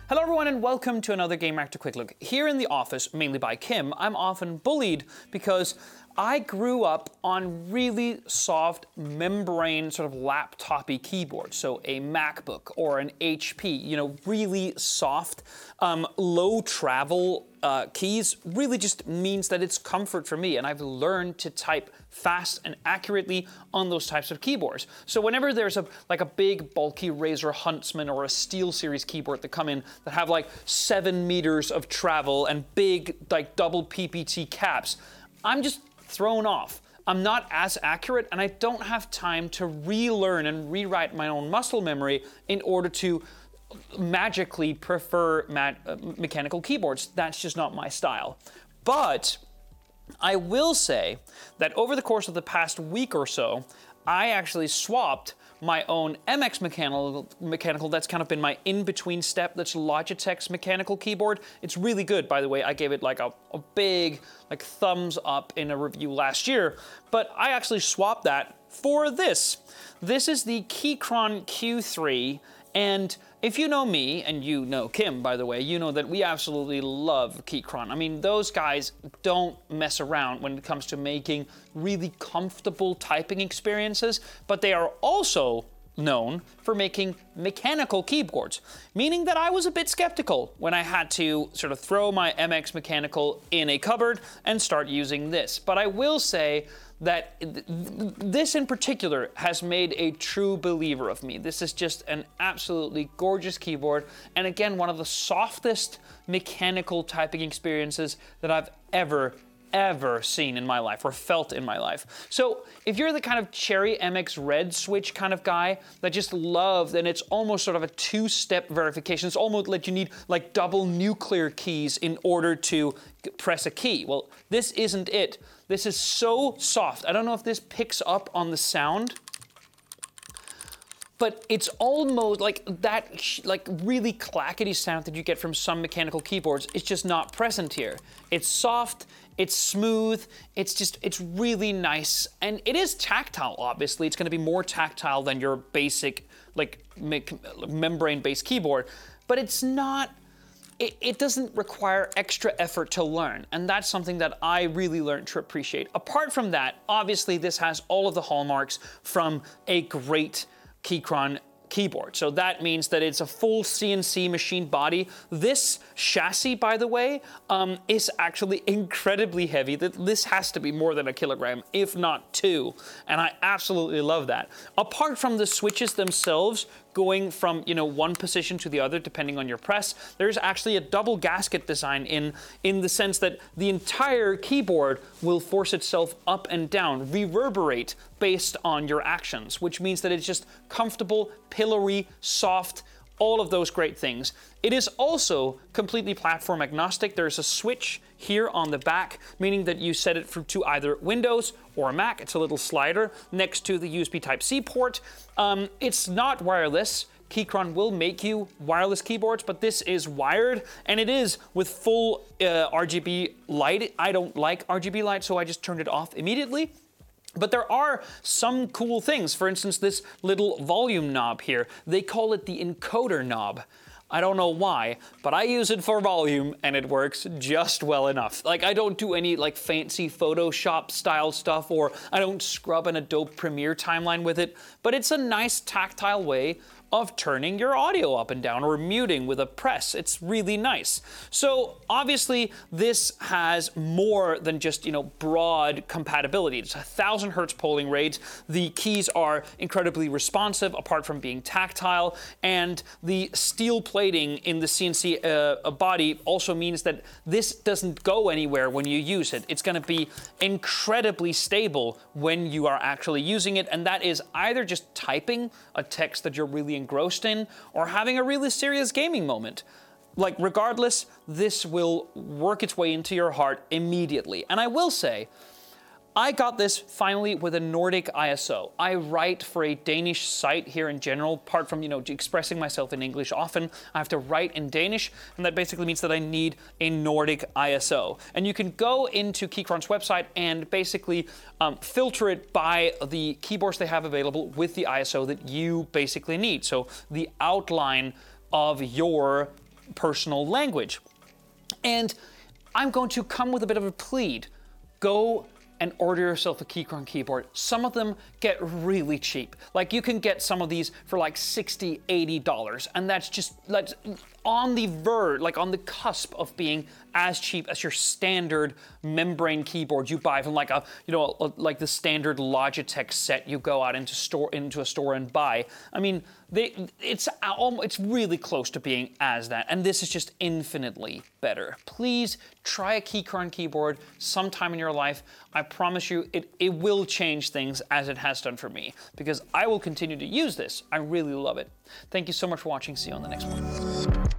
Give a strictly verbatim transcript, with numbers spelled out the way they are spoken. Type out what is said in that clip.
Hello everyone and welcome to another Gamereactor Quick Look. Here in the office, mainly by Kim, I'm often bullied because I grew up on really soft membrane sort of laptop-y keyboards. So a MacBook or an H P, you know, really soft, um, low travel uh, keys really just means that it's comfort for me, and I've learned to type fast and accurately on those types of keyboards. So whenever there's a like a big bulky Razer Huntsman or a SteelSeries keyboard that come in that have like seven meters of travel and big like double P P T caps, I'm just thrown off. I'm not as accurate, and I don't have time to relearn and rewrite my own muscle memory in order to magically prefer ma uh, mechanical keyboards. That's just not my style. But I will say that over the course of the past week or so, I actually swapped my own M X mechanical, mechanical that's kind of been my in-between step. That's Logitech's mechanical keyboard. It's really good, by the way. I gave it like a, a big like thumbs up in a review last year, but I actually swapped that for this. This is the Keychron Q three, and if you know me, and you know Kim, by the way, you know that we absolutely love Keychron. I mean, those guys don't mess around when it comes to making really comfortable typing experiences, but they are also known for making mechanical keyboards, meaning that I was a bit skeptical when I had to sort of throw my M X mechanical in a cupboard and start using this. But I will say that th this in particular has made a true believer of me. This is just an absolutely gorgeous keyboard, and again, one of the softest mechanical typing experiences that I've ever ever seen in my life or felt in my life. So if you're the kind of Cherry M X Red switch kind of guy that just loves, and it's almost sort of a two-step verification, it's almost like you need like double nuclear keys in order to press a key. Well, this isn't it. This is so soft. I don't know if this picks up on the sound, but it's almost like that like really clackety sound that you get from some mechanical keyboards. It's just not present here. It's soft, it's smooth, it's just, it's really nice. And it is tactile, obviously. It's gonna be more tactile than your basic like me membrane-based keyboard, but it's not, It, it doesn't require extra effort to learn, and that's something that I really learned to appreciate. Apart from that, obviously this has all of the hallmarks from a great Keychron keyboard. So that means that it's a full C N C machine body. This chassis, by the way, um, is actually incredibly heavy. This has to be more than a kilogram, if not two, and I absolutely love that. Apart from the switches themselves, going from, you know, one position to the other depending on your press, there's actually a double gasket design in in the sense that the entire keyboard will force itself up and down, reverberate based on your actions, which means that it's just comfortable, pillory, soft, all of those great things. It is also completely platform agnostic. There's a switch here on the back, meaning that you set it for, to either Windows or Mac. It's a little slider next to the U S B Type-C port. Um, it's not wireless. Keychron will make you wireless keyboards, but this is wired, and it is with full uh, R G B light. I don't like R G B light, so I just turned it off immediately. But there are some cool things. For instance, this little volume knob here. They call it the encoder knob. I don't know why, but I use it for volume and it works just well enough. Like, I don't do any like fancy Photoshop style stuff, or I don't scrub an Adobe Premiere timeline with it, but it's a nice tactile way of turning your audio up and down or muting with a press. It's really nice. So obviously this has more than just, you know, broad compatibility. It's a thousand hertz polling rate. The keys are incredibly responsive apart from being tactile, and the steel plating in the C N C uh, body also means that this doesn't go anywhere when you use it. It's going to be incredibly stable when you are actually using it, and that is either just typing a text that you're really engrossed in or having a really serious gaming moment. Like, regardless, this will work its way into your heart immediately. And I will say, I got this finally with a Nordic I S O. I write for a Danish site here in general. Apart from, you know, expressing myself in English often, I have to write in Danish, and that basically means that I need a Nordic I S O. And you can go into Keychron's website and basically um, filter it by the keyboards they have available with the I S O that you basically need. So the outline of your personal language. And I'm going to come with a bit of a plead. Go and order yourself a Keychron keyboard. Some of them get really cheap. Like you can get some of these for like sixty, eighty dollars, and that's just like on the verge, like on the cusp of being as cheap as your standard membrane keyboard you buy from like a, you know, a, like the standard Logitech set you go out into store into a store and buy. I mean, they, it's it's really close to being as that, and this is just infinitely better. Please try a Keychron keyboard sometime in your life. I promise you, it, it will change things as it has done for me, because I will continue to use this. I really love it. Thank you so much for watching. See you on the next one.